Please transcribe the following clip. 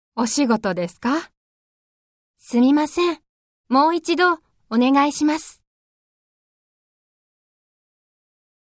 お仕事ですか？ すみません。もう一度お願いします。